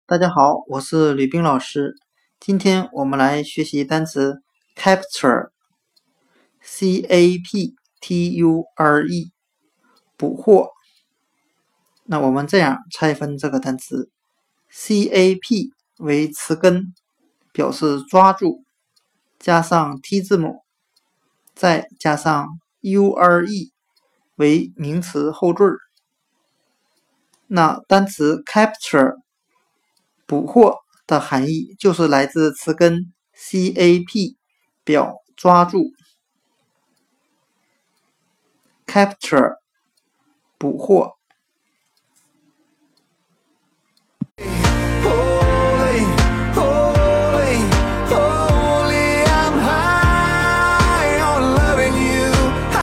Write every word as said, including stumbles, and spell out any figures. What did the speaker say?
大家好，我是吕冰老师。今天我们来学习单词 capture，C A P T U R E， 捕获。那我们这样拆分这个单词 ，C A P 为词根，表示抓住，加上 T 字母，再加上 U R E 为名词后缀。那单词 capture捕获的含义就是来自词根 C A P 表抓住 capture 捕获